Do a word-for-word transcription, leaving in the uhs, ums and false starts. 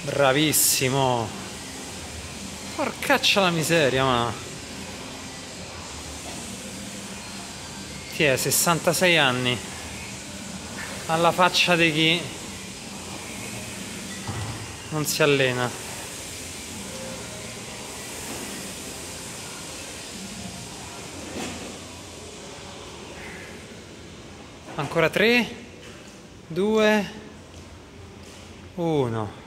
Bravissimo. Porcaccia la miseria, ma... Ti è sessantasei anni. Alla faccia di chi non si allena. Ancora tre, due, uno.